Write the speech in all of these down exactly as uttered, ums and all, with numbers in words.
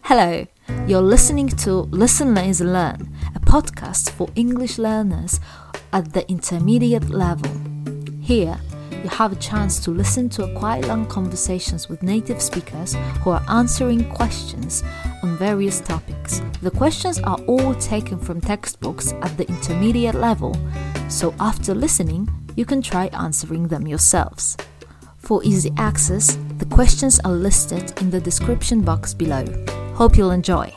Hello, you're listening to Listen, Lazy, Learn, a podcast for English learners at the intermediate level. Here, you have a chance to listen to a quite long conversations with native speakers who are answering questions on various topics. The questions are all taken from textbooks at the intermediate level, so after listening, you can try answering them yourselves. For easy access, the questions are listed in the description box below. Hope you'll enjoy.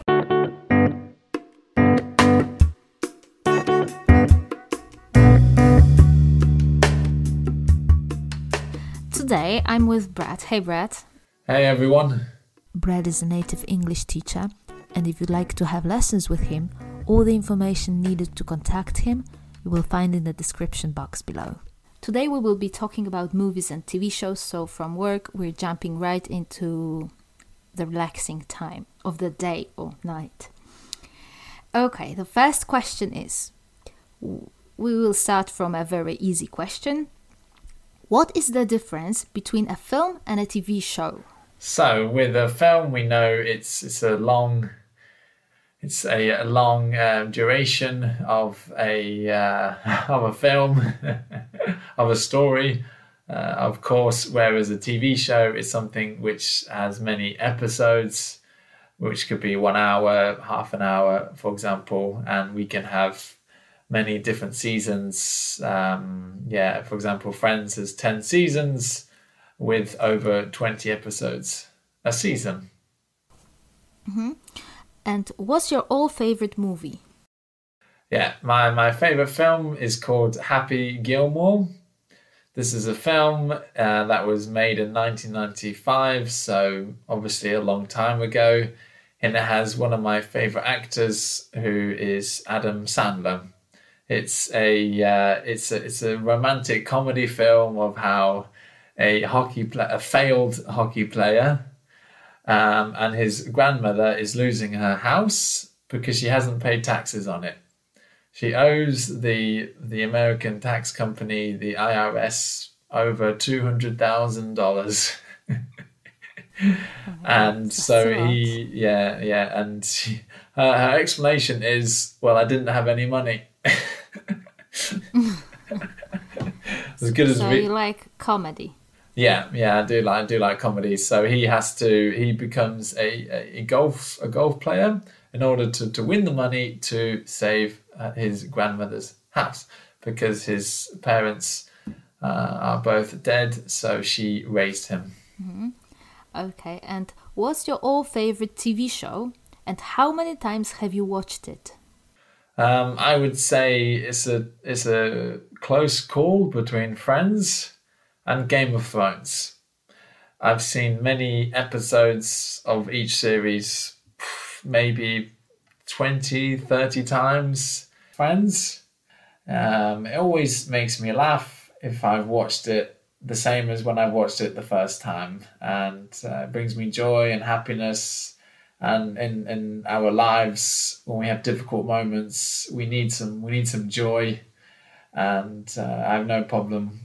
Today I'm with Brad. Hey Brad. Hey everyone. Brad is a native English teacher, and if you'd like to have lessons with him, all the information needed to contact him you will find in the description box below. Today we will be talking about movies and T V shows, so from work we're jumping right into the relaxing time of the day or night. Okay, the first question is, we will start from a very easy question. What is the difference between a film and a T V show? So with a film, we know it's it's a long it's a, a long um, duration of a uh, of a film of a story. Uh, of course, whereas a T V show is something which has many episodes, which could be one hour, half an hour, for example, and we can have many different seasons. Um, yeah, for example, Friends has ten seasons with over twenty episodes a season. Mm-hmm. And what's your all favorite movie? Yeah, my, my favorite film is called Happy Gilmore. This is a film uh, that was made in nineteen ninety-five, so obviously a long time ago, and it has one of my favorite actors, who is Adam Sandler. It's a uh, it's a it's a romantic comedy film of how a hockey play, a failed hockey player, um, and his grandmother is losing her house because she hasn't paid taxes on it. She owes the the American tax company, the I R S, over two hundred thousand dollars. And so he, yeah, yeah, and she, her, her explanation is, well, I didn't have any money. As good as so we, you like comedy? Yeah, yeah, I do like I do like comedy. So he has to he becomes a, a golf a golf player in order to, to win the money to save uh, his grandmother's house, because his parents uh, are both dead. So she raised him. Mm-hmm. Okay, and what's your all favorite T V show, and how many times have you watched it? Um, I would say it's a it's a close call between Friends and Game of Thrones. I've seen many episodes of each series, maybe twenty, thirty times. Friends, um, it always makes me laugh if I've watched it the same as when I watched it the first time, and uh, it brings me joy and happiness. And in, in our lives, when we have difficult moments, we need some we need some joy, and uh, I have no problem.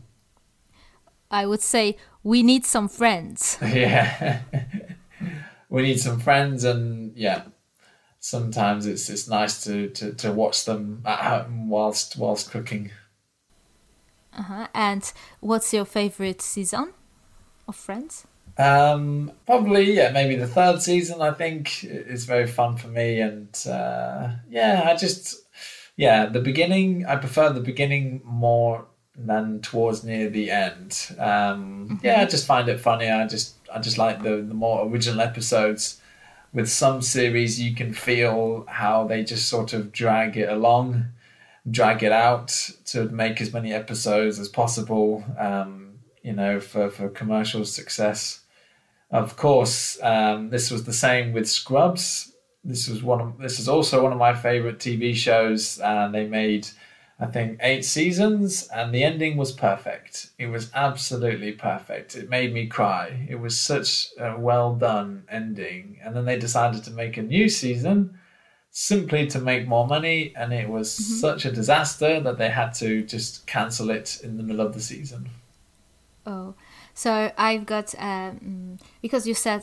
I would say we need some friends. Yeah, we need some friends, and yeah, sometimes it's it's nice to, to, to watch them at home whilst whilst cooking. Uh-huh. And what's your favorite season of Friends? Um, probably, yeah, maybe the third season, I think, is very fun for me. And uh, yeah, I just, yeah, the beginning, I prefer the beginning more than towards near the end. Um, mm-hmm. Yeah, I just find it funny. I just, I just like the, the more original episodes. With some series, you can feel how they just sort of drag it along, drag it out to make as many episodes as possible, um, you know, for, for commercial success. Of course, um, this was the same with Scrubs. This was one. Of, this is also one of my favorite T V shows, and they made, I think, eight seasons, and the ending was perfect. It was absolutely perfect. It made me cry. It was such a well done ending, and then they decided to make a new season simply to make more money, and it was mm-hmm. such a disaster that they had to just cancel it in the middle of the season. Oh, so I've got um, because you said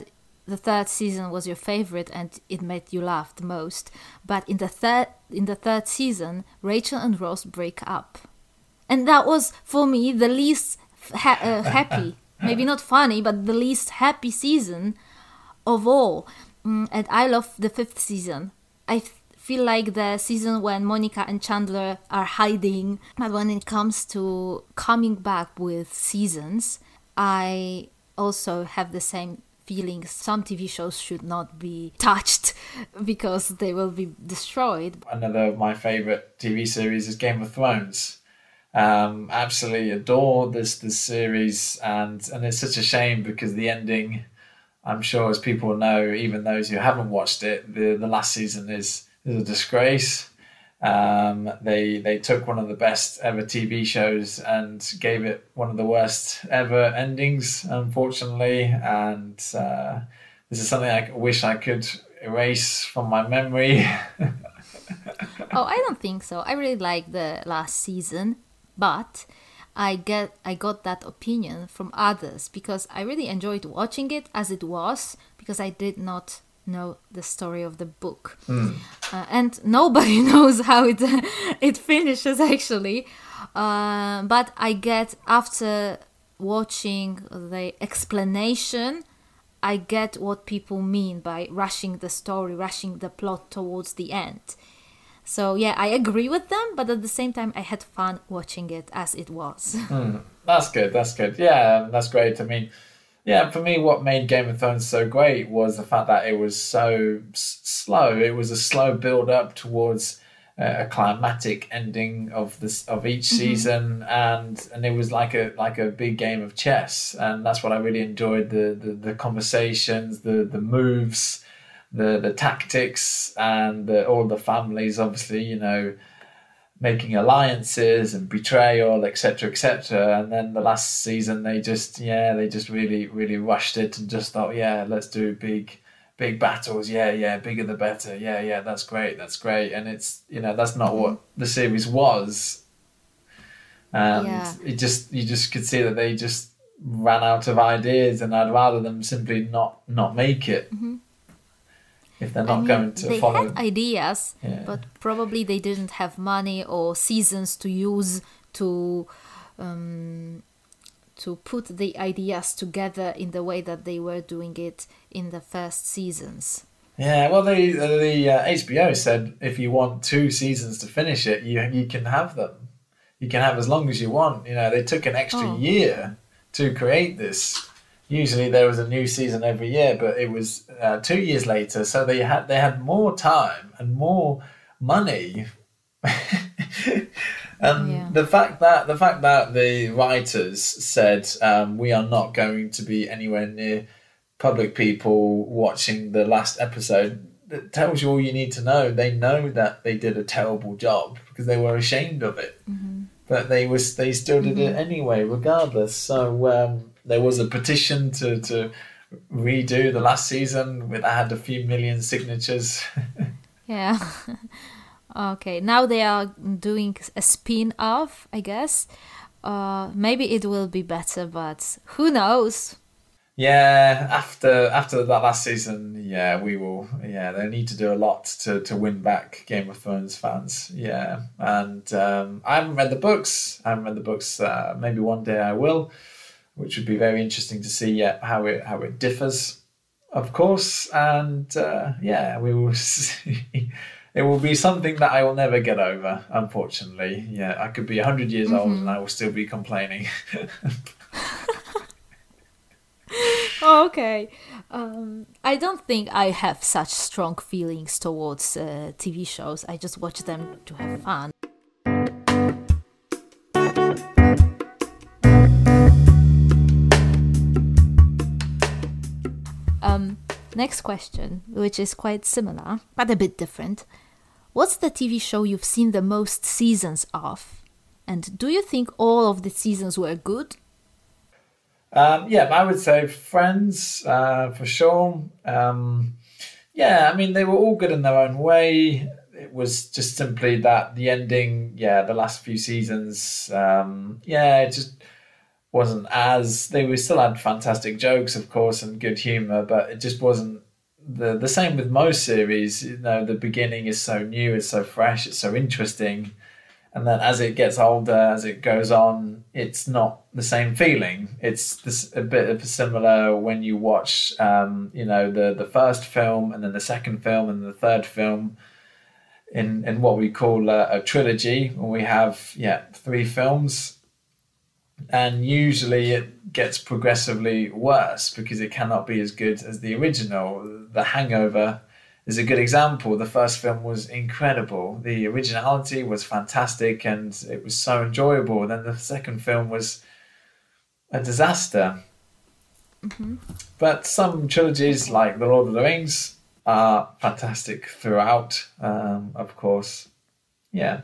the third season was your favorite and it made you laugh the most. But in the third in the third season, Rachel and Ross break up, and that was for me the least ha- uh, happy, maybe not funny, but the least happy season of all. Mm, and I love the fifth season. I f- feel like the season when Monica and Chandler are hiding. But when it comes to coming back with seasons, I also have the same feeling. Some T V shows should not be touched because they will be destroyed. Another of my favourite T V series is Game of Thrones. Um, absolutely adore this this series, and and it's such a shame because the ending, I'm sure as people know, even those who haven't watched it, the, the last season is is a disgrace. Um, they they took one of the best ever T V shows and gave it one of the worst ever endings, unfortunately. And uh, this is something I wish I could erase from my memory. Oh, I don't think so. I really like the last season, but I get I got that opinion from others because I really enjoyed watching it as it was, because I did not know the story of the book. Mm. Uh, and nobody knows how it it finishes actually. Uh, but I get, after watching the explanation, I get what people mean by rushing the story, rushing the plot towards the end. So yeah, I agree with them, but at the same time, I had fun watching it as it was. Mm. That's good. That's good. Yeah, that's great. I mean, yeah, for me, what made Game of Thrones so great was the fact that it was so s- slow. It was a slow build up towards uh, a climatic ending of this of each Mm-hmm. season, and and it was like a like a big game of chess, and that's what I really enjoyed: the the, the conversations, the the moves, the the tactics, and the, all the families. Obviously, you know, making alliances and betrayal, et cetera, et cetera. And then the last season, they just, yeah, they just really, really rushed it and just thought, yeah, let's do big, big battles. Yeah, yeah, bigger the better. Yeah, yeah, that's great, that's great. And it's, you know, that's not what the series was. And Yeah. it just, you just could see that they just ran out of ideas, and I'd rather them simply not not make it. Mm-hmm. If they're I not mean, going to they follow. had ideas, Yeah. but probably they didn't have money or seasons to use to um, to put the ideas together in the way that they were doing it in the first seasons. Yeah, well, the the uh, H B O said if you want two seasons to finish it, you you can have them. You can have as long as you want. You know, they took an extra Oh. year to create this. Usually there was a new season every year, but it was uh, two years later, so they had they had more time and more money. And Yeah. the fact that the fact that the writers said um, we are not going to be anywhere near public people watching the last episode, that tells you all you need to know. They know that they did a terrible job because they were ashamed of it, Mm-hmm. but they was they still did it Mhm. anyway, regardless. So um, there was a petition to to redo the last season with I had a few million signatures. Yeah. Okay, now they are doing a spin-off, I guess. Uh, maybe it will be better, but who knows? Yeah, after after that last season, yeah, we will. Yeah, they need to do a lot to, to win back Game of Thrones fans. Yeah, and um, I haven't read the books. I haven't read the books. Uh, maybe one day I will, which would be very interesting to see. Yeah, how it how it differs, of course. And uh, yeah, we will see. It will be something that I will never get over. Unfortunately, yeah, I could be a hundred years old and I will still be complaining. Okay. Um, I don't think I have such strong feelings towards uh, T V shows. I just watch them to have fun. Um, next question, which is quite similar, but a bit different. What's the T V show you've seen the most seasons of? And do you think all of the seasons were good? Um, yeah, I would say Friends, uh, for sure. Um, yeah, I mean, they were all good in their own way. It was just simply that the ending, yeah, the last few seasons, um, yeah, it just wasn't as they we still had fantastic jokes, of course, and good humor, but it just wasn't the the same with most series. You know, the beginning is so new, it's so fresh, it's so interesting, and then as it gets older, as it goes on, it's not the same feeling. It's this, a bit of a similar when you watch, um, you know, the the first film and then the second film and the third film. In, in what we call a, a trilogy, when we have yeah three films, and usually it gets progressively worse because it cannot be as good as the original. The Hangover is a good example. The first film was incredible. The originality was fantastic and it was so enjoyable. Then the second film was a disaster. Mm-hmm. But some trilogies like The Lord of the Rings are fantastic throughout, um, of course. Yeah.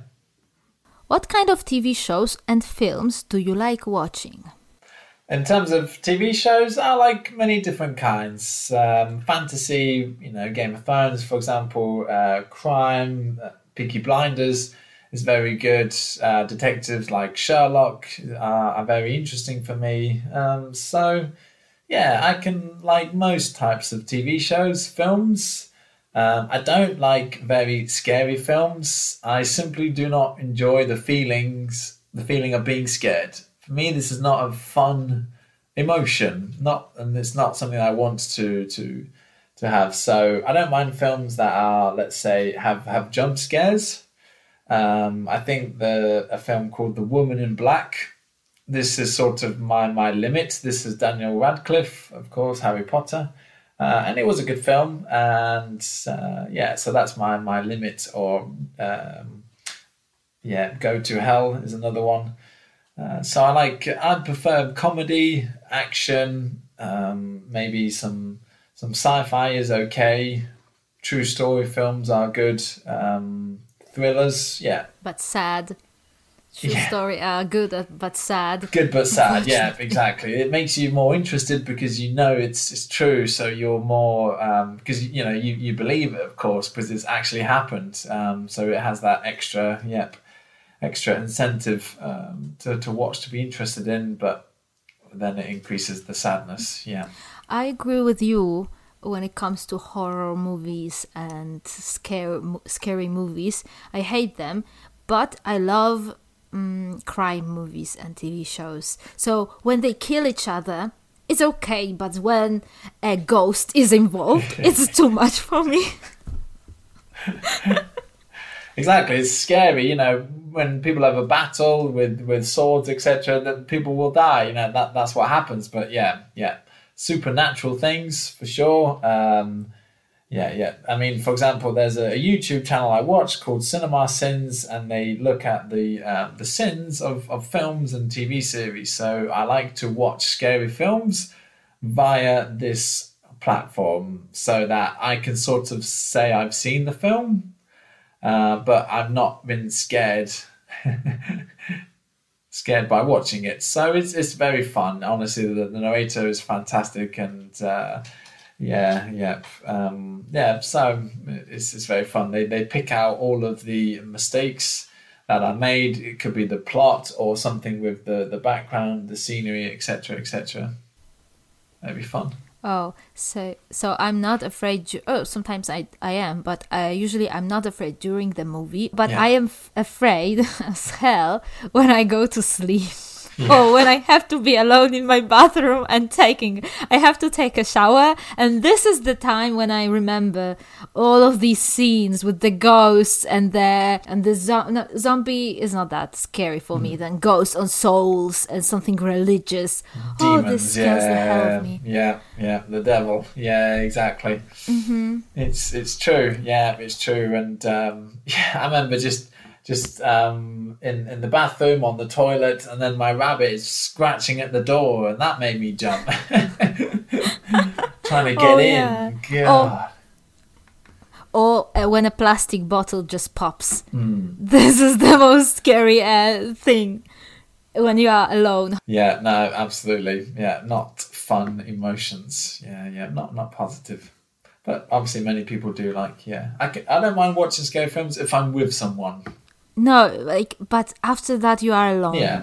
What kind of T V shows and films do you like watching? In terms of T V shows, I like many different kinds. Um, fantasy, you know, Game of Thrones, for example, uh, crime, uh, Peaky Blinders is very good. Uh, detectives like Sherlock uh, are very interesting for me. Um, so... Yeah, I can like most types of T V shows, films. Um, I don't like very scary films. I simply do not enjoy the feelings, the feeling of being scared. For me, this is not a fun emotion, not, and it's not something I want to to to have. So I don't mind films that are, let's say, have have jump scares. Um, I think the a film called The Woman in Black. This is sort of my, my limit. This is Daniel Radcliffe, of course, Harry Potter. Uh, and it was a good film. And uh, yeah, so that's my, my limit. Or um, yeah, Go to Hell is another one. Uh, so I like, I prefer comedy, action, um, maybe some some sci-fi is okay. True story films are good. Um, thrillers, yeah. But sad. True Yeah. story are good uh, but sad. Good but sad, yeah, exactly. It makes you more interested because you know it's it's true, so you're more because um, you know you, you believe it, of course, because it's actually happened. Um, so it has that extra, yep, extra incentive um, to to watch, to be interested in, but then it increases the sadness. Yeah, I agree with you when it comes to horror movies and scary scary movies. I hate them, but I love um, crime movies and T V shows. So when they kill each other, it's okay, but when a ghost is involved, it's too much for me. exactly. It's scary, you know, when people have a battle with, with swords, et cetera. That people will die. You know, that that's what happens. But yeah, yeah, supernatural things for sure. Um, Yeah, yeah. I mean, for example, there's a, a YouTube channel I watch called Cinema Sins, and they look at the uh, the sins of, of films and T V series. So I like to watch scary films via this platform so that I can sort of say I've seen the film, uh, but I've not been scared scared by watching it. So it's it's very fun. Honestly, the, the narrator is fantastic, and uh, Yeah, yeah, um, yeah. So it's it's very fun. They they pick out all of the mistakes that are made. It could be the plot or something with the, the background, the scenery, et cetera, et cetera. That'd be fun. Oh, so so I'm not afraid. Oh, sometimes I I am, but uh, usually I'm not afraid during the movie. But Yeah. I am f- afraid as hell when I go to sleep. Yeah. Or when I have to be alone in my bathroom and taking, I have to take a shower. And this is the time when I remember all of these scenes with the ghosts and the, and the zo- no, zombie is not that scary for me than ghosts on souls and something religious. Oh, this scares yeah, the hell of me. yeah, yeah. The devil. Yeah, exactly. Mm-hmm. It's it's true. Yeah, it's true. And um, yeah, I remember just. Just um, in, in the bathroom, on the toilet, and then my rabbit is scratching at the door, and that made me jump. Trying to get Oh, in. yeah. God. Or uh, when a plastic bottle just pops. Mm. This is the most scary uh, thing when you are alone. Yeah, no, absolutely. Yeah, not fun emotions. Yeah, yeah, not not positive. But obviously many people do like, yeah. I, can, I don't mind watching scary films if I'm with someone. No, like, but after that you are alone. Yeah.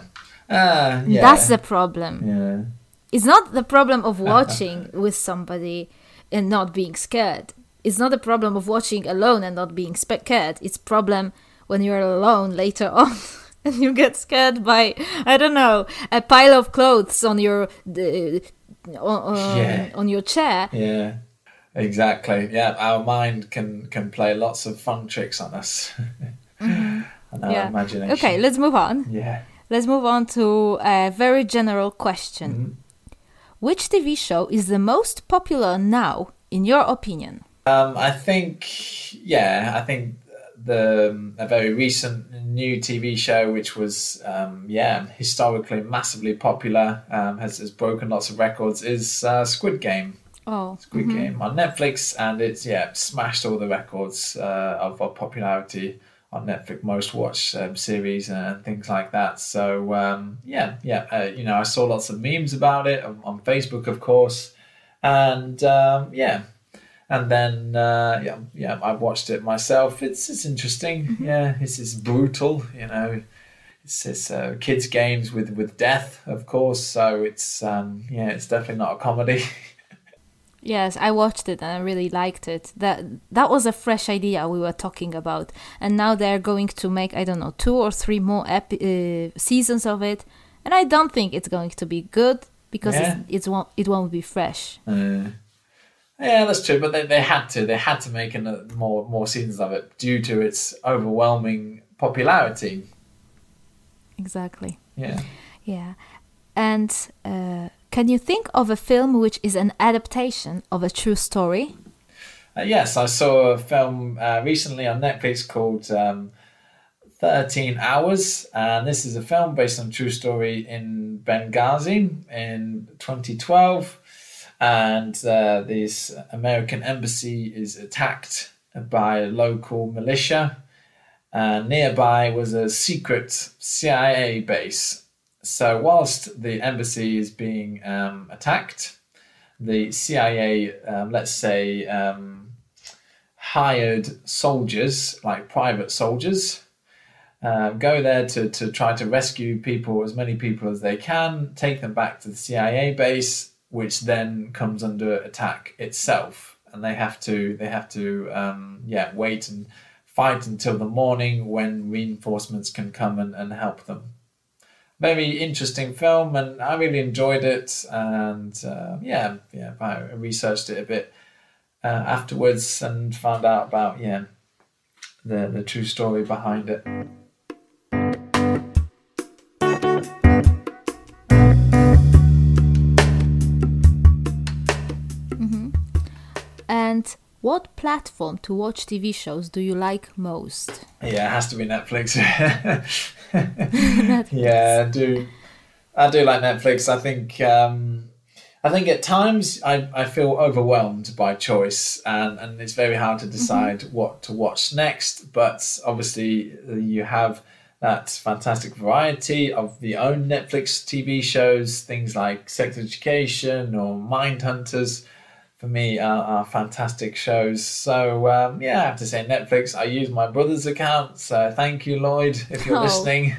Ah, yeah. That's the problem. Yeah. It's not the problem of watching with somebody and not being scared. It's not the problem of watching alone and not being scared. It's problem when you're alone later on and you get scared by, I don't know, a pile of clothes on your uh, on, Yeah. on your chair. Yeah. Exactly. Yeah, our mind can can play lots of fun tricks on us. And our Yeah. imagination. Okay, let's move on. Yeah. Let's move on to a very general question. Mhm. Which T V show is the most popular now, in your opinion? Um, I think, yeah, I think the um, a very recent new T V show, which was, um, yeah, historically massively popular, um, has, has broken lots of records, is uh, Squid Game. Oh, Squid Game on Netflix, and it's, yeah, smashed all the records uh, of, of popularity on Netflix, most watched um, series and things like that. So, um, yeah, yeah, uh, you know, I saw lots of memes about it on, on Facebook, of course, and um, yeah. And then, uh, yeah, yeah, I've watched it myself. It's it's interesting. Mm-hmm. Yeah, it's it's brutal. You know, it's it's uh, kids' games with, with death, of course. So it's um, yeah, it's definitely not a comedy. yes, I watched it and I really liked it. That that was a fresh idea we were talking about, and now they're going to make, I don't know, two or three more epi- uh, seasons of it, and I don't think it's going to be good because Yeah. it's, it's won't it won't be fresh. Uh, yeah, that's true. But they, they had to they had to make an, more more seasons of it due to its overwhelming popularity. Exactly. Yeah. Yeah, and uh, can you think of a film which is an adaptation of a true story? Uh, yes, I saw a film uh, recently on Netflix called um, thirteen Hours, and this is a film based on a true story in Benghazi in twenty twelve, and uh, this American embassy is attacked by a local militia, and nearby was a secret C I A base. So whilst the embassy is being um, attacked, the C I A, um, let's say, um, hired soldiers, like private soldiers, uh, go there to, to try to rescue people, as many people as they can, take them back to the C I A base, which then comes under attack itself, and they have to they have to um, yeah wait and fight until the morning when reinforcements can come and, and help them. Very interesting film, and I really enjoyed it. And uh, yeah, yeah, I researched it a bit uh, afterwards and found out about yeah the the true story behind it. And what platform to watch T V shows do you like most? Yeah, it has to be Netflix. Yeah, I do. I do like Netflix. I think. Um, I think at times I, I feel overwhelmed by choice, and, and it's very hard to decide mm-hmm. what to watch next. But obviously, you have that fantastic variety of the own Netflix T V shows, things like Sex Education or Mindhunters. For me, are, are fantastic shows. So um, yeah, I have to say Netflix. I use my brother's account, so thank you, Lloyd, if you're oh. listening.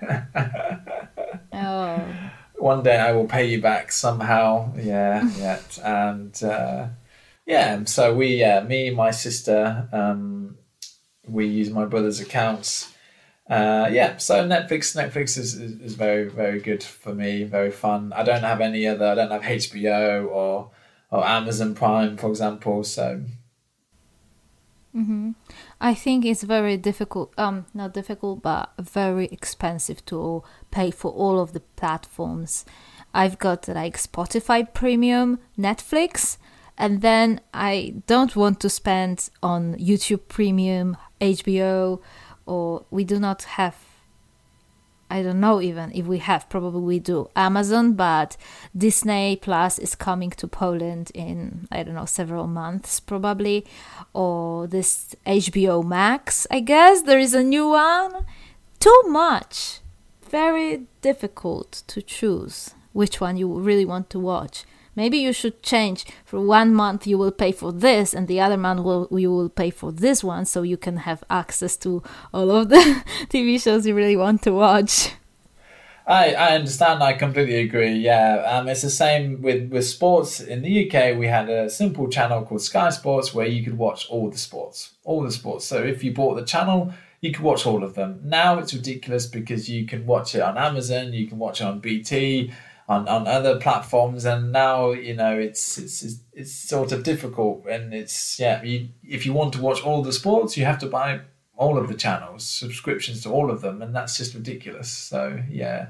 oh. One day I will pay you back somehow. Yeah, yeah, and uh, yeah. So we, uh, me, my sister, um, we use my brother's accounts. Uh, yeah, so Netflix, Netflix is, is, is very, very good for me. Very fun. I don't have any other. I don't have H B O or. or Amazon Prime, for example. So, mm-hmm. I think it's very difficult. Um, not difficult, but very expensive to pay for all of the platforms. I've got like Spotify Premium, Netflix, and then I don't want to spend on YouTube Premium, H B O, or we do not have. I don't know even if we have, probably we do, Amazon, but Disney Plus is coming to Poland in, I don't know, several months probably, or this H B O Max, I guess, there is a new one. Too much. Very difficult to choose which one you really want to watch. Maybe you should change. For one month you will pay for this, and the other month will, you will pay for this one, so you can have access to all of the T V shows you really want to watch. I, I understand. I completely agree. Yeah, um, it's the same with, with sports. In the U K, we had a simple channel called Sky Sports where you could watch all the sports, all the sports. So if you bought the channel, you could watch all of them. Now it's ridiculous because you can watch it on Amazon, you can watch it on B T, on, on other platforms, and now you know it's it's it's, it's sort of difficult. And it's yeah, you, if you want to watch all the sports, you have to buy all of the channels, subscriptions to all of them, and that's just ridiculous. So yeah,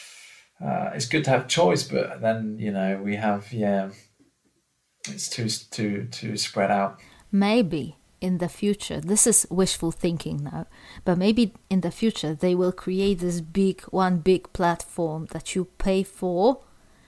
uh, it's good to have choice, but then you know we have yeah, it's too too too spread out. Maybe in the future, this is wishful thinking now, but maybe in the future they will create this big one big platform that you pay for,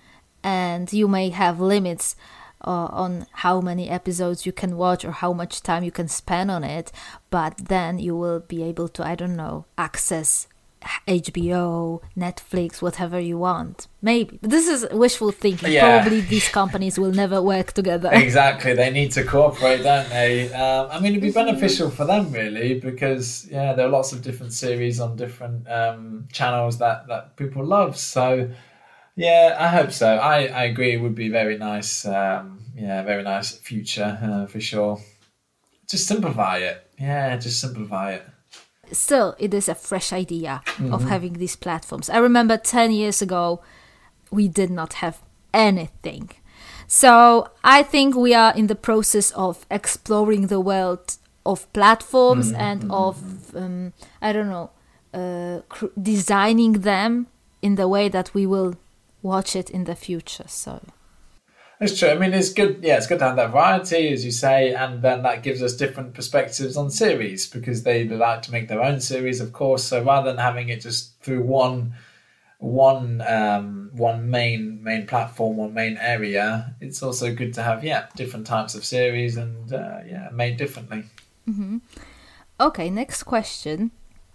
and you may have limits Uh, on how many episodes you can watch or how much time you can spend on it, but then you will be able to, I don't know, access H B O, Netflix, whatever you want. Maybe. But this is wishful thinking. Yeah. Probably these companies will never work together. Exactly. They need to cooperate, don't they? Um, I mean, it'd be beneficial for them, really, because, yeah, there are lots of different series on different um, channels that, that people love. So, yeah, I hope so. I, I agree. It would be very nice. Um, yeah, very nice future uh, for sure. Just simplify it. Yeah, just simplify it. Still, it is a fresh idea Mm-hmm. of having these platforms. I remember ten years ago, we did not have anything. So I think we are in the process of exploring the world of platforms Mm-hmm. and of, um, I don't know, uh, cr- designing them in the way that we will watch it in the future. So It's true. I mean, it's good. Yeah, it's good to have that variety, as you say, and then that gives us different perspectives on series because they like to make their own series, of course. So rather than having it just through one, one, um, one main main platform, one main area, it's also good to have yeah different types of series and uh, yeah made differently. mm-hmm. Okay, next question.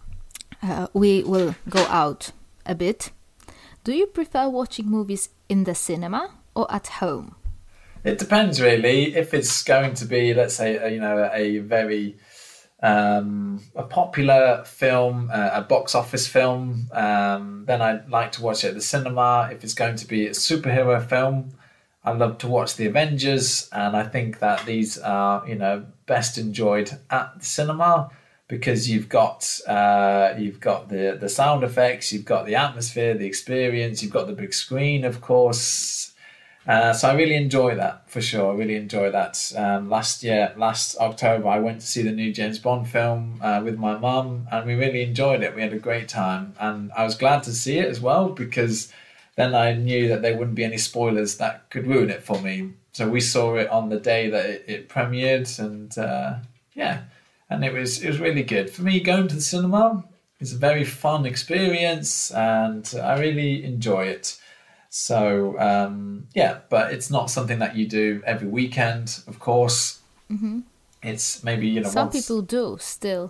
Uh, we will go out a bit. Do you prefer watching movies in the cinema or at home? It depends, really. If it's going to be, let's say, a, you know, a very um, a popular film, uh, a box office film, um, then I'd like to watch it at the cinema. If it's going to be a superhero film, I love to watch The Avengers, and I think that these are, you know, best enjoyed at the cinema. Because you've got uh, you've got the, the sound effects, you've got the atmosphere, the experience, you've got the big screen, of course. Uh, so I really enjoy that, for sure. I really enjoy that. Um, last year, last October, I went to see the new James Bond film uh, with my mum, and we really enjoyed it. We had a great time, and I was glad to see it as well because then I knew that there wouldn't be any spoilers that could ruin it for me. So we saw it on the day that it, it premiered, and uh, yeah. And it was it was really good. For me, going to the cinema is a very fun experience and I really enjoy it. So, um, yeah, but it's not something that you do every weekend, of course. Mm-hmm. It's maybe, you know, Some once... people do still.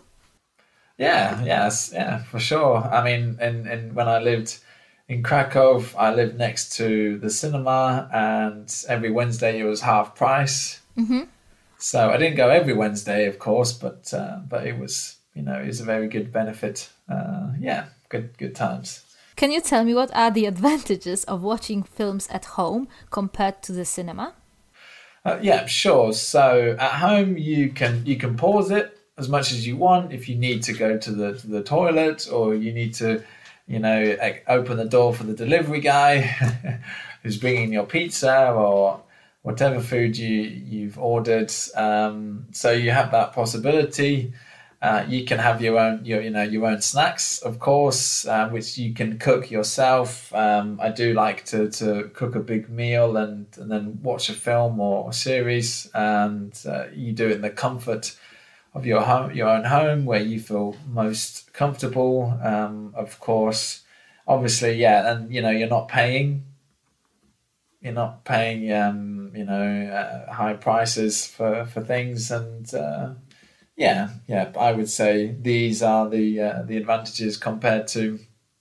Yeah, yes, yeah, for sure. I mean, in, in when I lived in Krakow, I lived next to the cinema and every Wednesday it was half price. Mm-hmm. So I didn't go every Wednesday, of course, but uh, but it was, you know, it was a very good benefit. Uh, yeah, good good times. Can you tell me what are the advantages of watching films at home compared to the cinema? Uh, yeah, sure. So at home you can you can pause it as much as you want if you need to go to the to the toilet or you need to, you know, open the door for the delivery guy who's bringing your pizza or whatever food you, you've ordered. Um, so you have that possibility. Uh, you can have your own, your, you know, your own snacks, of course, uh, which you can cook yourself. Um, I do like to, to cook a big meal and, and then watch a film or a series, and uh, you do it in the comfort of your home, your own home, where you feel most comfortable. Um, of course, obviously, yeah, and you know, you're not paying. You're not paying, um, you know, uh, high prices for, for things, and uh, yeah, yeah. I would say these are the uh, the advantages compared to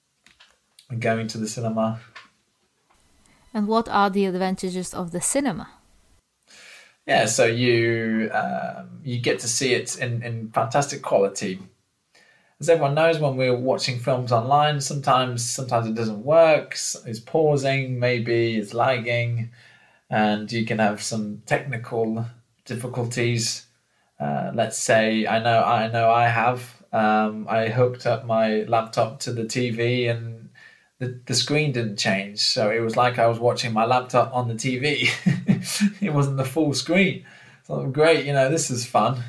going to the cinema. And what are the advantages of the cinema? Yeah, so you um, you get to see it in, in fantastic quality. as everyone knows, when we're watching films online, sometimes sometimes it doesn't work. It's pausing, maybe it's lagging, and you can have some technical difficulties. Uh, let's say I know I know I have. Um, I hooked up my laptop to the T V and the, the screen didn't change. So it was like I was watching my laptop on the T V. It wasn't the full screen. So great, you know, this is fun.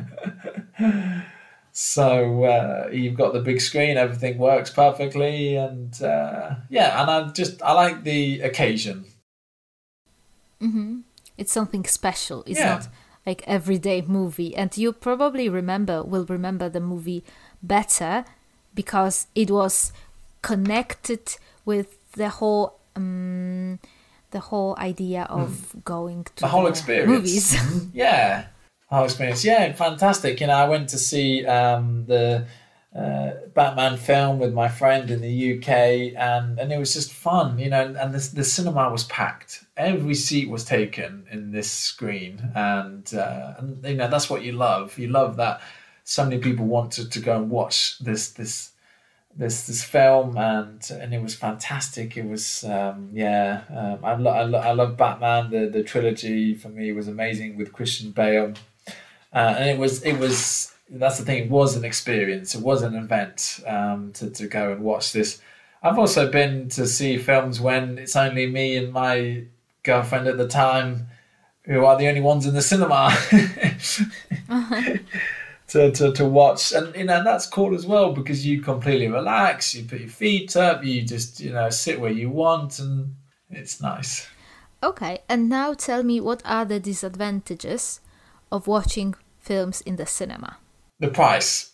So uh, you've got the big screen, everything works perfectly. And uh, yeah, and I just, I like the occasion. Mm-hmm. It's something special. It's Yeah. not like everyday movie, and you probably remember will remember the movie better because it was connected with the whole um, the whole idea of mm. going to the whole the experience. Movies. Yeah, the whole experience. Yeah, fantastic. You know, I went to see um, the uh, Batman film with my friend in the U K, and and it was just fun. You know, and the the cinema was packed. Every seat was taken in this screen, and, uh, and you know that's what you love. You love that so many people wanted to go and watch this this this this film, and and it was fantastic. It was um, yeah, um, I lo- I, lo- I love Batman. The the trilogy for me was amazing with Christian Bale, uh, and it was it was that's the thing. It was an experience. It was an event um, to to go and watch this. I've also been to see films when it's only me and my girlfriend at the time who are the only ones in the cinema uh-huh. to, to to watch, and you know that's cool as well because you completely relax, you put your feet up, you just you know sit where you want, and it's nice. Okay, and now tell me, what are the disadvantages of watching films in the cinema? The price.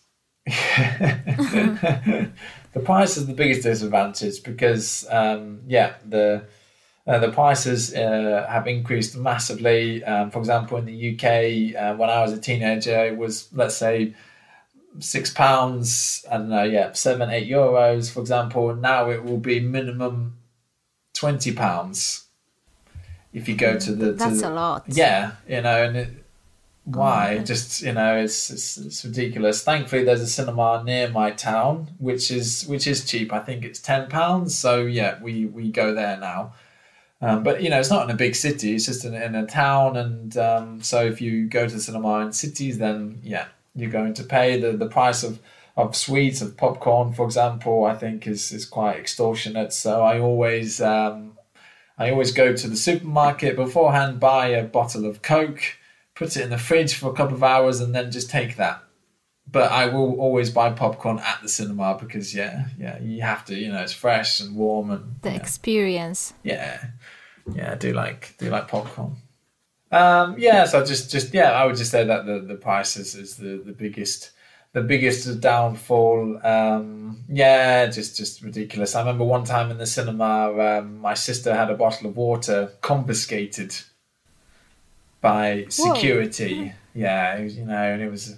The price is the biggest disadvantage because um yeah the Uh, the prices uh, have increased massively. Um, for example, in the U K, uh, when I was a teenager, it was, let's say, six pounds, I don't know, yeah, seven, eight euros, for example. Now it will be minimum twenty pounds if you go to the... To That's the, a lot. Yeah, you know, and it, why? Oh, Just, you know, it's, it's it's ridiculous. Thankfully, there's a cinema near my town, which is which is cheap. I think it's ten pounds. So, yeah, we, we go there now. Um, but, you know, it's not in a big city. It's just in, in a town. And um, so if you go to the cinema in cities, then, yeah, you're going to pay. The, the price of, of sweets, of popcorn, for example, I think is, is quite extortionate. So I always um, I always go to the supermarket beforehand, buy a bottle of Coke, put it in the fridge for a couple of hours, and then just take that. But I will always buy popcorn at the cinema because, yeah, yeah, you have to, you know, it's fresh and warm. And the yeah. experience. Yeah. Yeah, I do like do like popcorn. Um, yeah, so just just yeah, I would just say that the, the price is, is the, the biggest the biggest downfall. Um, yeah, just just ridiculous. I remember one time in the cinema, um, my sister had a bottle of water confiscated by security. Whoa. Yeah, it was, you know, and it was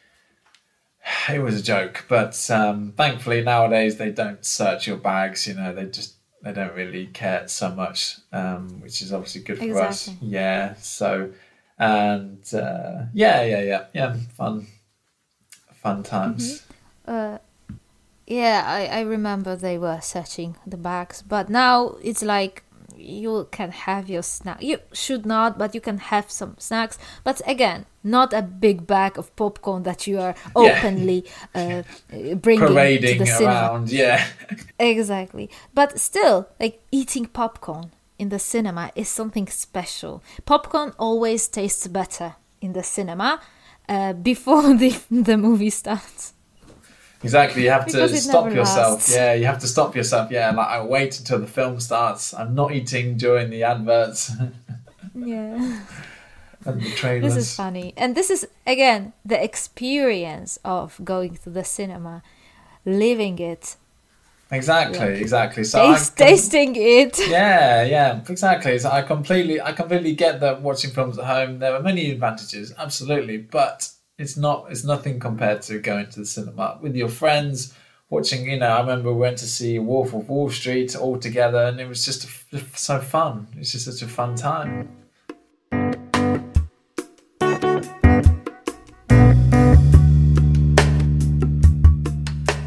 it was a joke. But um, thankfully nowadays they don't search your bags. You know, they just They don't really care so much, um, which is obviously good for exactly. us. Yeah. So, and uh, yeah, yeah, yeah, yeah, fun, fun times. Mm-hmm. Uh, yeah, I, I remember they were searching the bags, but now it's like you can have your snack. You should not, but you can have some snacks. But again, not a big bag of popcorn that you are openly yeah. uh, bringing parading to the cinema. around. Yeah, exactly. But still, like eating popcorn in the cinema is something special. Popcorn always tastes better in the cinema uh, before the the movie starts. Exactly, you have because to stop yourself. Lasts. Yeah, you have to stop yourself. Yeah, like I wait until the film starts. I'm not eating during the adverts. Yeah. And the trailers. This is funny. And this is, again, the experience of going to the cinema, living it. Exactly, like, exactly. So taste, com- tasting it. Yeah, yeah, exactly. So I completely, I completely get that watching films at home, there are many advantages, absolutely, but it's not, it's nothing compared to going to the cinema with your friends, watching, you know, I remember we went to see Wolf of Wall Street all together, and it was just a, so fun. It's just such a fun time.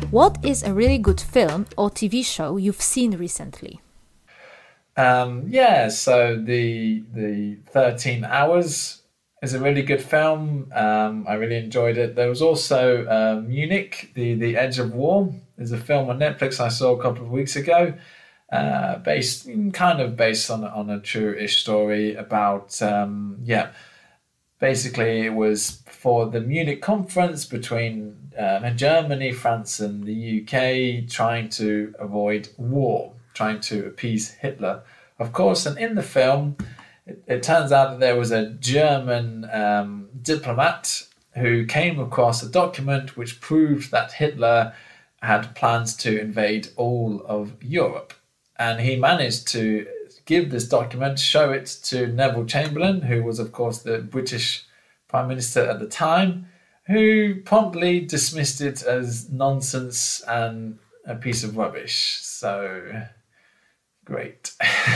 What is a really good film or T V show you've seen recently? Um, yeah, so the the thirteen Hours is a really good film. Um, I really enjoyed it. There was also uh, Munich, the the Edge of War. Is a film on Netflix I saw a couple of weeks ago, uh, based kind of based on on a true-ish story about um, yeah. Basically, it was for the Munich conference between uh, Germany, France, and the U K, trying to avoid war, trying to appease Hitler, of course. And in the film, it, it turns out that there was a German um, diplomat who came across a document which proved that Hitler had plans to invade all of Europe. And he managed to give this document, show it to Neville Chamberlain, who was, of course, the British Prime Minister at the time, who promptly dismissed it as nonsense and a piece of rubbish. So, great.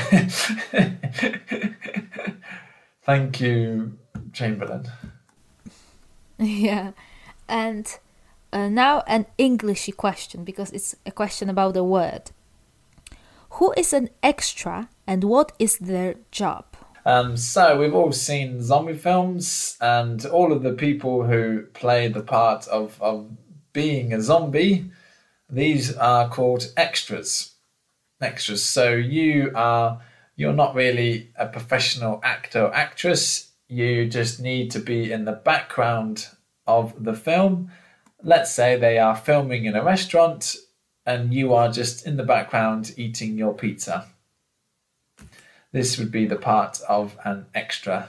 Thank you, Chamberlain. Yeah, and uh, now an Englishy question, because it's a question about a word. Who is an extra and what is their job? Um, so we've all seen zombie films, and all of the people who play the part of, of being a zombie, these are called extras. Extras. So you are you're not really a professional actor or actress. You just need to be in the background of the film. Let's say they are filming in a restaurant and you are just in the background eating your pizza. This would be the part of an extra.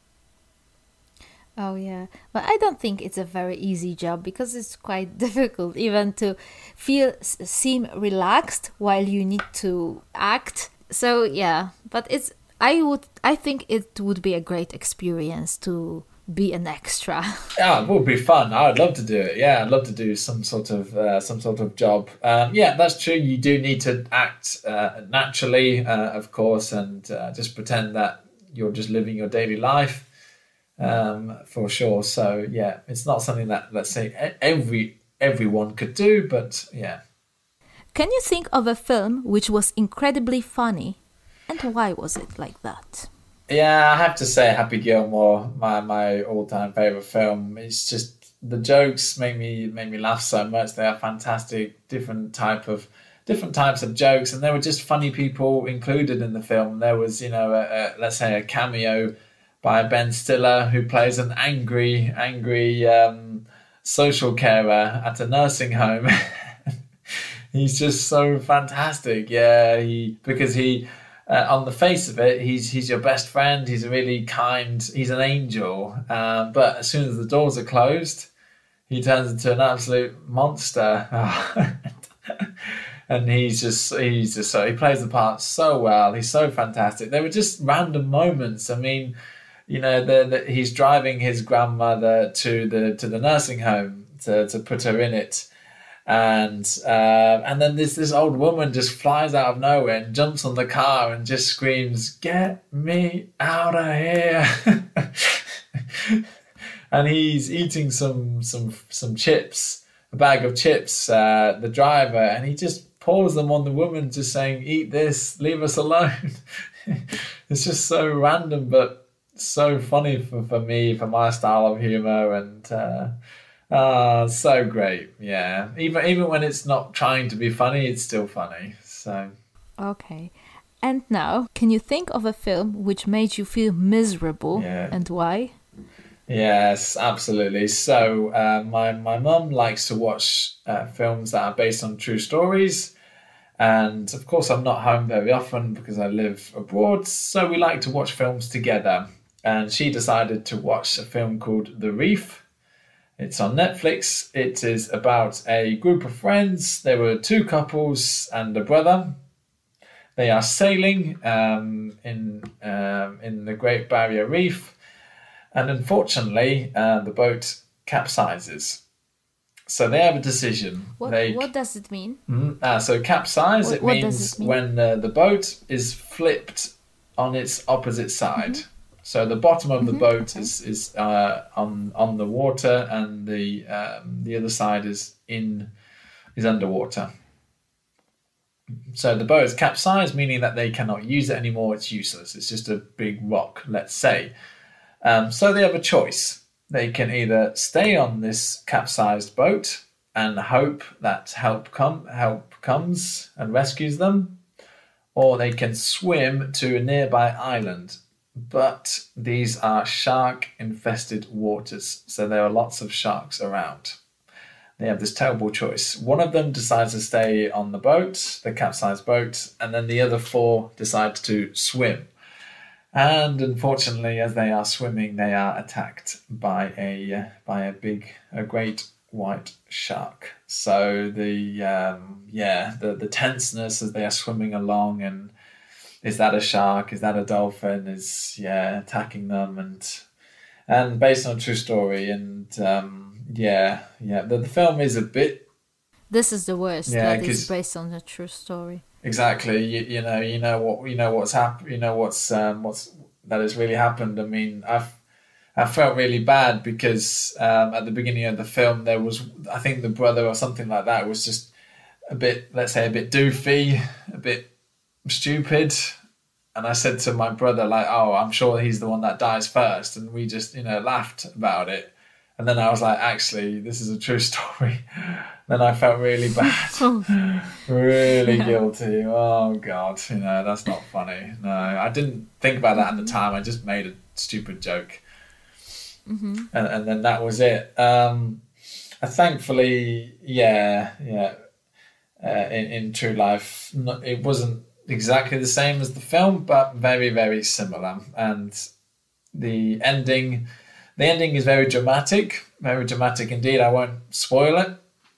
Oh yeah, but I don't think it's a very easy job, because it's quite difficult even to feel seem relaxed while you need to act. So yeah, but it's I would I think it would be a great experience to be an extra. Yeah, it would be fun. I'd love to do it. Yeah, I'd love to do some sort of uh, some sort of job. Um, yeah, that's true. You do need to act uh, naturally, uh, of course, and uh, just pretend that you're just living your daily life, um, for sure. So yeah, it's not something that, let's say, every everyone could do, but yeah. Can you think of a film which was incredibly funny, and why was it like that? Yeah, I have to say Happy Gilmore, my, my all-time favourite film. It's just, the jokes make me make me laugh so much. They are fantastic, different type of different types of jokes, and there were just funny people included in the film. There was, you know, a, a, let's say a cameo by Ben Stiller, who plays an angry, angry um, social carer at a nursing home. He's just so fantastic, yeah. He because he. Uh, on the face of it, he's he's your best friend. He's a really kind. He's an angel. Uh, but as soon as the doors are closed, he turns into an absolute monster. And he's just he's just so he plays the part so well. He's so fantastic. They were just random moments. I mean, you know, the, the, he's driving his grandmother to the to the nursing home to to put her in it. And uh, and then this this old woman just flies out of nowhere and jumps on the car and just screams, "Get me out of here!" And he's eating some some some chips, a bag of chips. Uh, the driver, and he just pours them on the woman, just saying, "Eat this, leave us alone." It's just so random, but so funny for, for me, for my style of humor, and. Uh, Ah, oh, so great. Yeah. Even even when it's not trying to be funny, it's still funny. So okay. And now, can you think of a film which made you feel miserable, yeah. and why? Yes, absolutely. So uh, my, my mum likes to watch uh, films that are based on true stories. And of course, I'm not home very often because I live abroad. So we like to watch films together. And she decided to watch a film called The Reef. It's on Netflix. It is about a group of friends. There were two couples and a brother. They are sailing um, in um, in the Great Barrier Reef, and unfortunately, uh, the boat capsizes. So they have a decision. What, they, what does it mean? Mm, uh, so capsize, what, it what means it mean? when uh, the boat is flipped on its opposite side. Mm-hmm. So the bottom of the mm-hmm. boat okay. is is uh, on on the water, and the um, the other side is in is underwater. So the boat is capsized, meaning that they cannot use it anymore. It's useless. It's just a big rock, let's say. Um, so they have a choice. They can either stay on this capsized boat and hope that help come help comes and rescues them, or they can swim to a nearby island. But these are shark-infested waters, so there are lots of sharks around. They have this terrible choice. One of them decides to stay on the boat, the capsized boat, and then the other four decide to swim. And unfortunately, as they are swimming, they are attacked by a by a big, a great white shark. So the um, yeah, the the tenseness as they are swimming along, and is that a shark? Is that a dolphin? Is yeah attacking them, and and based on a true story, and um, yeah, yeah. The, the film is a bit. This is the worst. Yeah, that is based on a true story. Exactly. You, you know, you know what you know what's happened. You know what's um, what's that has really happened. I mean, I've I felt really bad because um, at the beginning of the film there was, I think the brother or something like that was just a bit, let's say, a bit doofy, a bit stupid. And I said to my brother, like, oh, I'm sure he's the one that dies first. And we just, you know, laughed about it. And then I was like, actually, this is a true story. Then I felt really bad, really Yeah. guilty. Oh, God, you know, that's not funny. No, I didn't think about that at the time. I just made a stupid joke. Mm-hmm. And, and then that was it. Um, uh, thankfully, yeah, yeah. Uh, in, in true life, not, it wasn't exactly the same as the film, but very, very similar. And the ending, the ending is very dramatic, very dramatic indeed. I won't spoil it.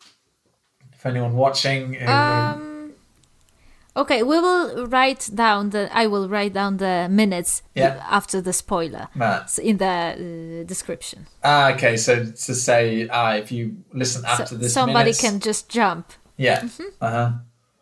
For anyone watching, who, Um. Okay, we will write down the. I will write down the minutes Yeah. after the spoiler Matt. in the uh, description. Ah, okay. So to say, ah, if you listen after So this, somebody minutes, can just jump. yeah. Uh huh.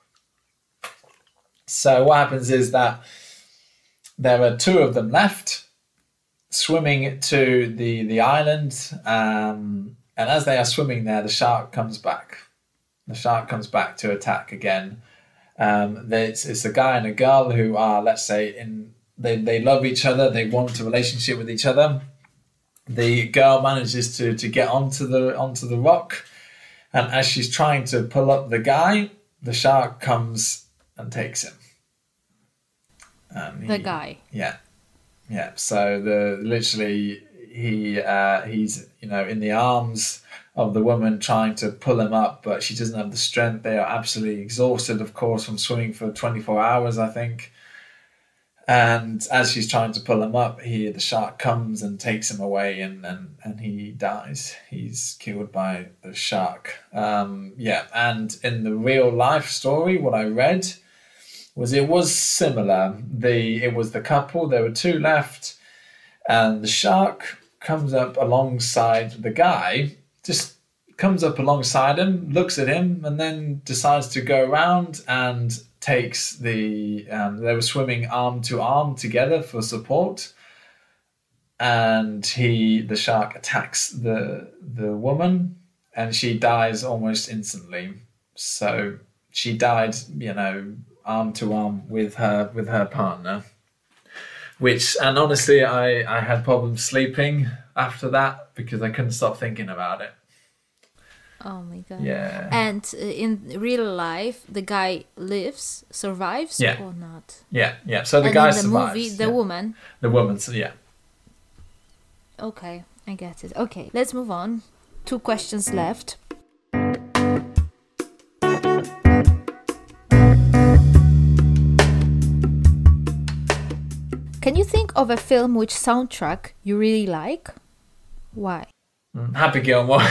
So what happens is that there are two of them left, swimming to the the island, um, and as they are swimming there, the shark comes back. The shark comes back to attack again. Um, it's, it's a guy and a girl who are, let's say, in they, they love each other. They want a relationship with each other. The girl manages to to get onto the onto the rock, and as she's trying to pull up the guy, the shark comes and takes him. Um, The he- guy. Yeah, yeah. So the literally he uh, he's you know in the arms of the woman trying to pull him up, but she doesn't have the strength. They are absolutely exhausted, of course, from swimming for twenty-four hours, I think. And as she's trying to pull him up, he the shark comes and takes him away, and and, and he dies. He's killed by the shark. Um, yeah, and in the real life story, what I read was it was similar. The it was the couple. There were two left, and the shark comes up alongside the guy. Just comes up alongside him, looks at him, and then decides to go around and takes the. Um, they were swimming arm to arm together for support, and he, the shark, attacks the the woman, and she dies almost instantly. So she died, you know, arm to arm with her with her partner. Which, and honestly, I I had problems sleeping after that because I couldn't stop thinking about it. Oh my god. Yeah. And uh, in real life, the guy lives, survives, Yeah. or not? Yeah, yeah. So the and guy in the survives. movie, the yeah. woman. The woman, so yeah. Okay, I get it. Okay, let's move on. Two questions left. Can you think of a film which soundtrack you really like? Why? Mm, Happy Gilmore.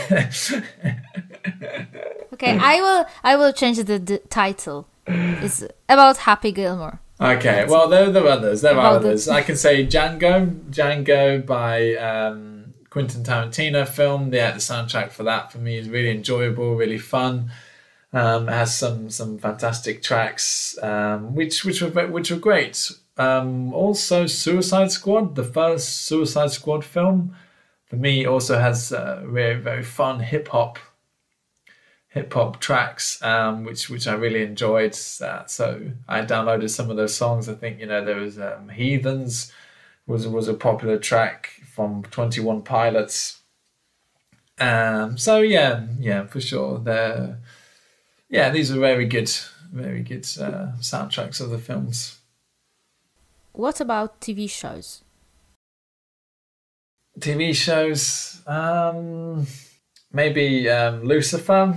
Okay, I will. I will change the, the title. It's about Happy Gilmore. Okay, well, there, there are others. There are About the- others. I can say Django. Django by um, Quentin Tarantino film. Yeah, the soundtrack for that for me is really enjoyable, really fun. Um, it has some some fantastic tracks, um, which which were which were great. Um, also, Suicide Squad, the first Suicide Squad film, for me also has uh, very very fun hip hop hip hop tracks, um, which which I really enjoyed. Uh, so I downloaded some of those songs. I think, you know, there was um, Heathens was was a popular track from Twenty One Pilots. Um, so yeah, yeah, for sure. They're, yeah, these are very good, very good uh, soundtracks of the films. What about T V shows? T V shows, um, maybe um, Lucifer.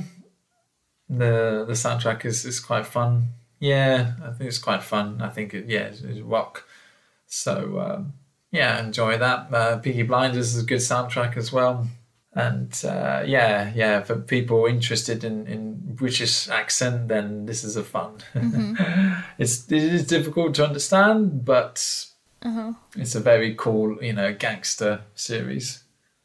The the soundtrack is, is quite fun. Yeah, I think it's quite fun. I think it, yeah, it's, it's rock. So um, yeah, enjoy that. Uh, Peaky Blinders is a good soundtrack as well. And uh, yeah, yeah, for people interested in, in British accent, then this is a fun. Mm-hmm. it's it is difficult to understand, but uh-huh. It's a very cool, you know, gangster series.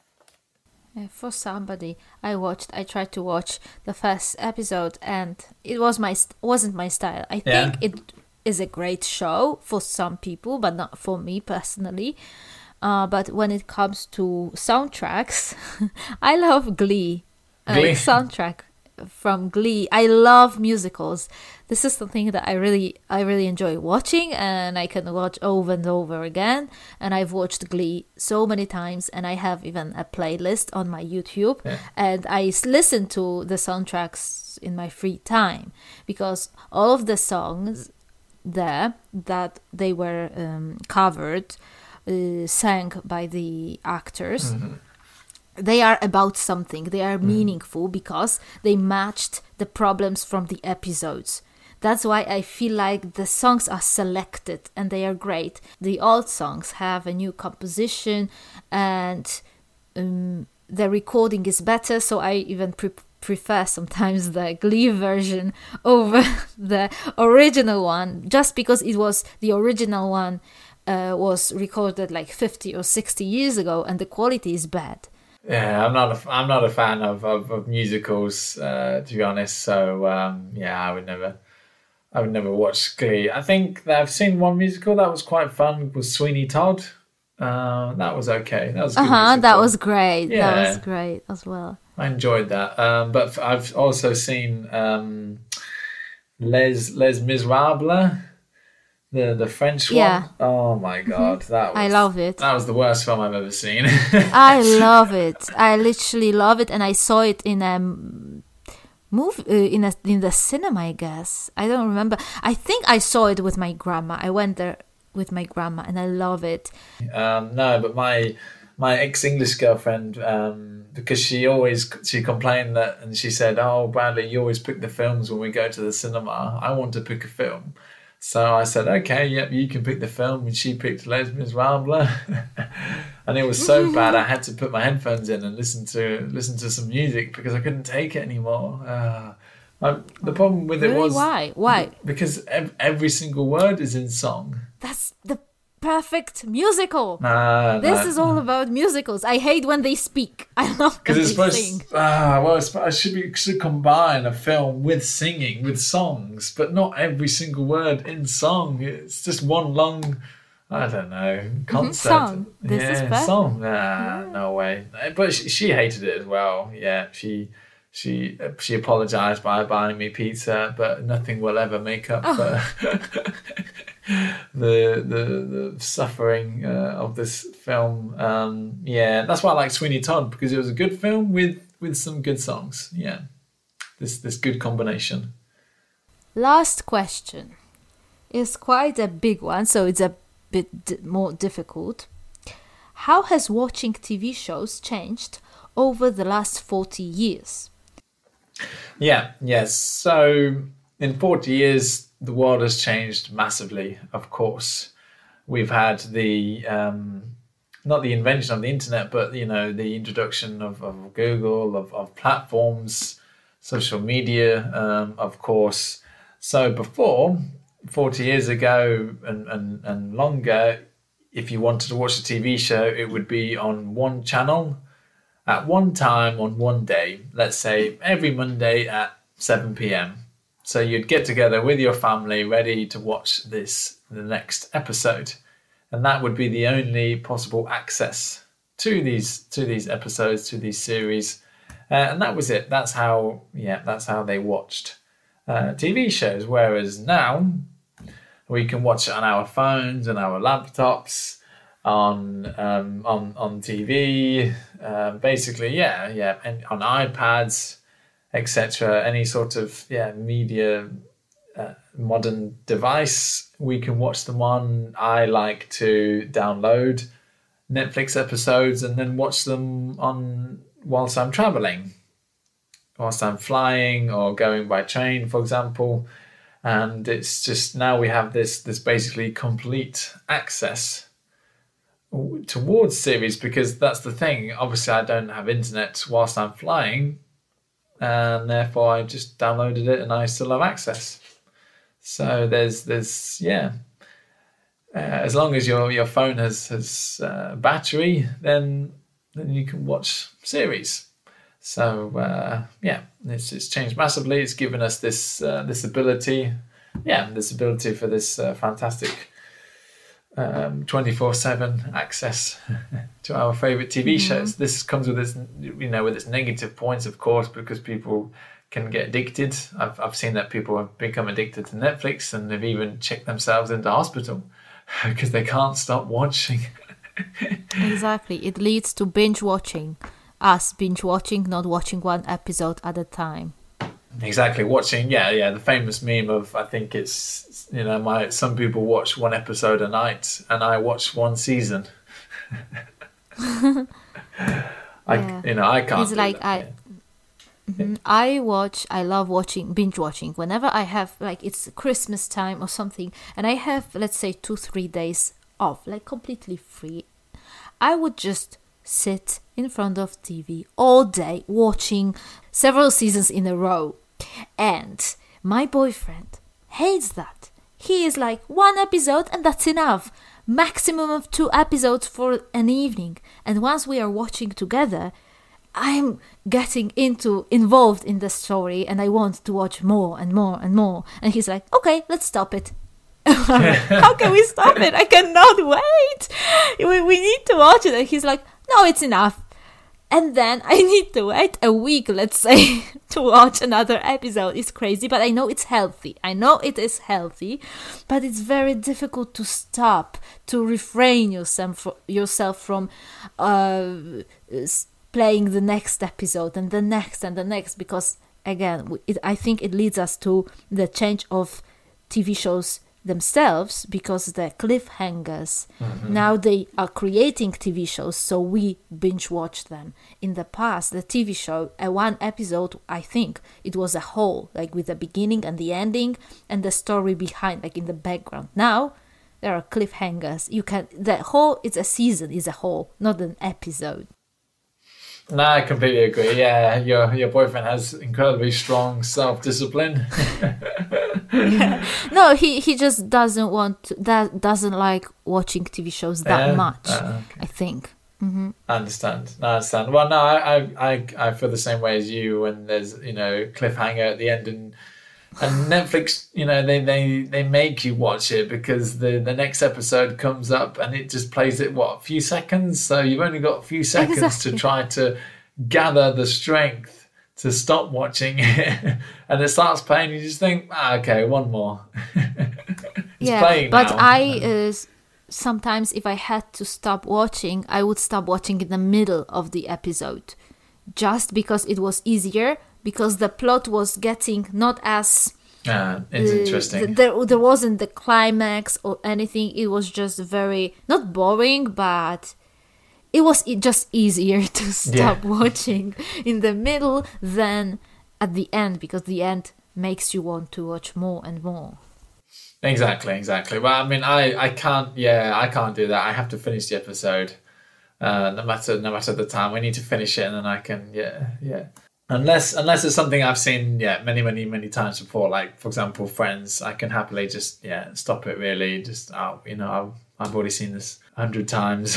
Uh, for somebody, I watched. I tried to watch the first episode, and it was my wasn't my style. I yeah. think it is a great show for some people, but not for me personally. Uh, but when it comes to soundtracks, I love Glee. Glee. Uh, soundtrack from Glee. I love musicals. This is something that I really, I really enjoy watching, and I can watch over and over again. And I've watched Glee so many times, and I have even a playlist on my YouTube. Yeah. And I listen to the soundtracks in my free time, because all of the songs there that they were um, covered. Uh, sang by the actors, mm-hmm. they are about something. They are mm. meaningful because they matched the problems from the episodes. That's why I feel like the songs are selected and they are great. The old songs have a new composition and um, the recording is better, so I even pre- prefer sometimes the Glee version over the original one, just because it was the original one Uh, was recorded like fifty or sixty years ago, and the quality is bad. Yeah, I'm not a, I'm not a fan of, of, of musicals, uh, to be honest. So um, yeah, I would never, I would never watch Glee. I think that I've seen one musical that was quite fun. Was Sweeney Todd? Uh, that was okay. That was a good uh huh. musical. That was great. Yeah. That was great as well. I enjoyed that. Um, but I've also seen um, Les Les Miserables. The the French one. Yeah. Oh my god, mm-hmm. that was, I love it. That was the worst film I've ever seen. I love it. I literally love it, and I saw it in a movie uh, in a in the cinema. I guess I don't remember. I think I saw it with my grandma. I went there with my grandma, and I love it. Um, no, but my my ex English girlfriend, um, because she always she complained that, and she said, "Oh, Bradley, you always pick the films when we go to the cinema. I want to pick a film." So I said, okay, yep, you can pick the film. And she picked Les Miserables. And it was so bad I had to put my headphones in and listen to listen to some music because I couldn't take it anymore. Uh, my, the problem with really? it was... Why? Why? Because ev- every single word is in song. That's the perfect musical. Nah, this nah. is all about musicals. I hate when they speak. I love when it's they supposed, sing. Ah, well, it's, I should be should combine a film with singing, with songs, but not every single word in song. It's just one long, I don't know, concert. Mm-hmm, song. This yeah, is perfect. Song. Nah, yeah. No way. But she, she hated it as well. Yeah, she she she apologized by buying me pizza, but nothing will ever make up oh. for the the the suffering uh, of this film. Um, yeah, that's why I like Sweeney Todd, because it was a good film with with some good songs. Yeah, this this good combination. Last question is quite a big one, so it's a bit d- more difficult. How has watching T V shows changed over the last forty years? Yeah, yes. So in forty years, the world has changed massively, of course. We've had the, um, not the invention of the internet, but, you know, the introduction of, of Google, of, of platforms, social media, um, of course. So before, forty years ago and, and, and longer, if you wanted to watch a T V show, it would be on one channel at one time on one day, let's say every Monday at seven p.m. So you'd get together with your family ready to watch this, the next episode. And that would be the only possible access to these to these episodes, to these series. Uh, and that was it. That's how, yeah, that's how they watched uh, T V shows. Whereas now we can watch it on our phones and our laptops, on um, on on T V, uh, basically, yeah, yeah, and on iPads, et cetera. Any sort of yeah media uh, modern device we can watch them on. I like to download Netflix episodes and then watch them on whilst I'm traveling, whilst I'm flying or going by train, for example. And it's just now we have this this basically complete access towards series, because that's the thing. Obviously, I don't have internet whilst I'm flying, and therefore I just downloaded it and I still have access. So there's there's yeah. Uh, as long as your your phone has has uh, battery, then then you can watch series. So uh, yeah, it's it's changed massively. It's given us this uh, this ability, yeah, this ability for this uh, fantastic um, twenty-four seven access to our favorite T V mm-hmm. shows. This comes with its you know with its negative points, of course, because people can get addicted. I've I've seen that people have become addicted to Netflix and they've even checked themselves into hospital because they can't stop watching. Exactly. It leads to binge watching. Us binge watching, not watching one episode at a time. Exactly. Watching, yeah, yeah. The famous meme of, I think it's, you know, my some people watch one episode a night and I watch one season. I, yeah. You know, I can't. It's like that, I. Yeah. Mm-hmm. I watch, I love watching, binge watching. Whenever I have, like, it's Christmas time or something, and I have, let's say, two, three days off, like, completely free, I would just sit in front of T V all day watching several seasons in a row. And my boyfriend hates that. He is like, one episode and that's enough. Maximum of two episodes for an evening. And once we are watching together, I'm getting into involved in the story and I want to watch more and more and more. And he's like, okay, let's stop it. How can we stop it? I cannot wait. We, we need to watch it. And he's like, no, it's enough. And then I need to wait a week, let's say, to watch another episode. It's crazy, but I know it's healthy. I know it is healthy, but it's very difficult to stop, to refrain yourself, yourself from uh, playing the next episode and the next and the next, because, again, it, I think it leads us to the change of T V shows themselves, because the cliffhangers, mm-hmm. now they are creating T V shows, so we binge watch them. In the past, the T V show, uh, one episode, I think it was a whole, like with the beginning and the ending and the story behind, like in the background. Now there are cliffhangers. You can, the whole, it's a season, is a whole, not an episode. No, I completely agree. Yeah, your your boyfriend has incredibly strong self-discipline. Yeah. No, he, he just doesn't want to, that doesn't like watching T V shows that yeah. much. Uh, okay. I think. Mm-hmm. I understand. No, I understand. Well, no, I, I I I feel the same way as you when there's you know cliffhanger at the end and and Netflix, you know, they, they, they make you watch it because the, the next episode comes up and it just plays it, what, a few seconds? So you've only got a few seconds exactly. to try to gather the strength to stop watching it. And it starts playing, you just think, ah, okay, one more. It's yeah, playing but now. I... Uh, sometimes if I had to stop watching, I would stop watching in the middle of the episode. Just because it was easier, because the plot was getting not as... Ah, it's uh, interesting. Th- there, there wasn't the climax or anything. It was just very, not boring, but it was just easier to stop yeah. watching in the middle than at the end, because the end makes you want to watch more and more. Exactly, exactly. Well, I mean, I, I can't, yeah, I can't do that. I have to finish the episode. Uh, no matter no matter the time, we need to finish it, and then I can, yeah, yeah. Unless unless it's something I've seen, yeah, many many many times before. Like for example, Friends, I can happily just yeah stop it. Really, just oh, you know, I've I've already seen this a hundred times.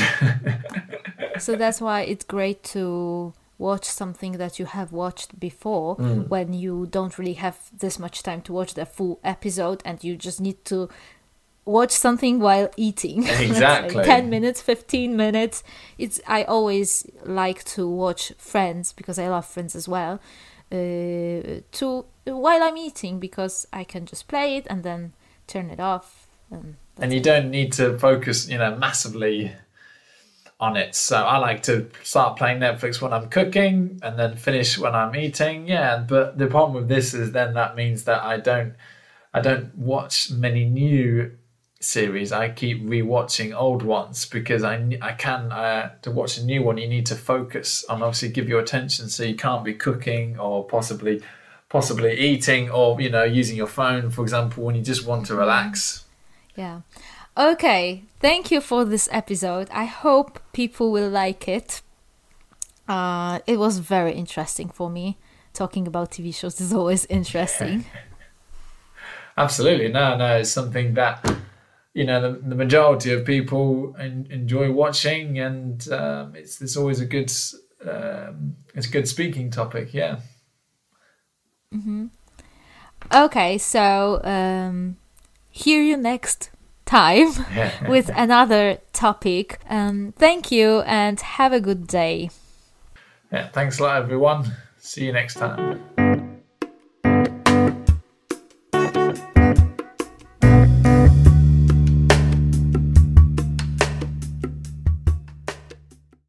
So that's why it's great to watch something that you have watched before mm. when you don't really have this much time to watch the full episode, and you just need to watch something while eating. Exactly. ten minutes, fifteen minutes. It's I always like to watch Friends because I love Friends as well. Uh, to while I'm eating, because I can just play it and then turn it off. And, and you it. don't need to focus, you know, massively on it. So I like to start playing Netflix when I'm cooking and then finish when I'm eating. Yeah, but the problem with this is then that means that I don't I don't watch many new series. I keep rewatching old ones because I, I can uh, to watch a new one you need to focus and obviously give your attention, so you can't be cooking or possibly possibly eating or, you know, using your phone, for example, when you just want to relax. Yeah. Okay, thank you for this episode. I hope people will like it. Uh, it was very interesting for me. Talking about T V shows is always interesting. Absolutely. No, no, it's something that, you know, the, the majority of people en- enjoy watching, and um, it's it's always a good um, it's a good speaking topic. Yeah. Mm-hmm. Okay, so um, hear you next time with another topic. Um, thank you and have a good day. Yeah, thanks a lot, everyone. See you next time.